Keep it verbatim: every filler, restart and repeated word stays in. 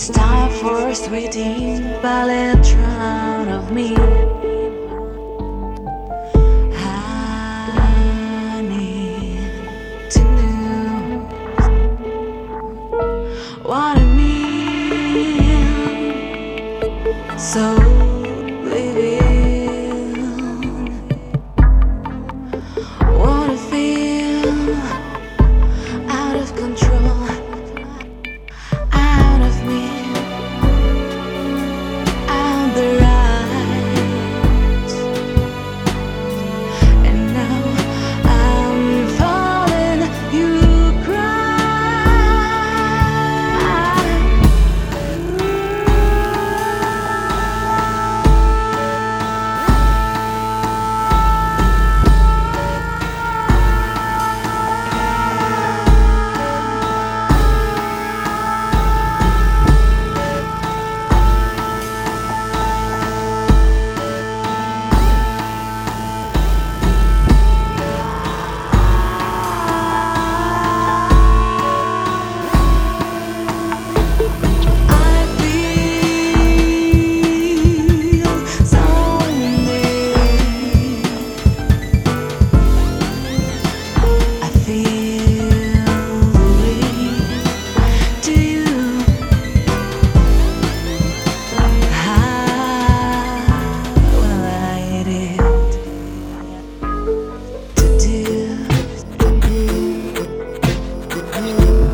It's time for a sweetie ballet drown of me. I need to know what I mean. So reveal what I feel, out of control, out of me, out the right. And now I'm falling, you to do.